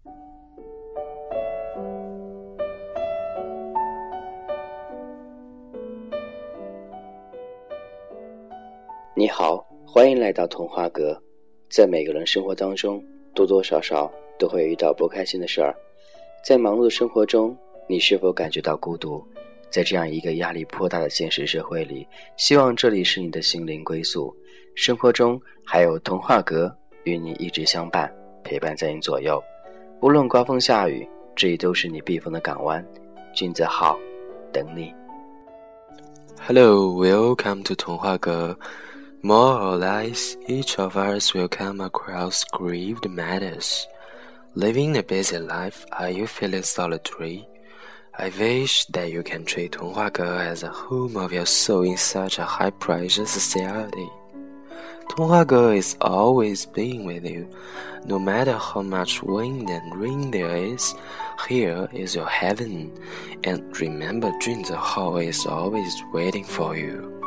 你好，欢迎来到童话阁。在每个人生活当中，多多少少都会遇到不开心的事儿。在忙碌的生活中，你是否感觉到孤独？在这样一个压力颇大的现实社会里，希望这里是你的心灵归宿。生活中还有童话阁与你一直相伴，陪伴在你左右。无论刮风下雨，这里都是你避风的港湾。君子好，等你。 Hello, welcome to 童话阁。 More or less, each of us will come across grieved matters. Living a busy life, are you feeling solitary? I wish that you can treat 童话阁 as a home of your soul in such a high-pressure society. 童话阁 is always being with you. No matter how much wind and rain there is, here is your heaven. And remember, 君子好 is always waiting for you.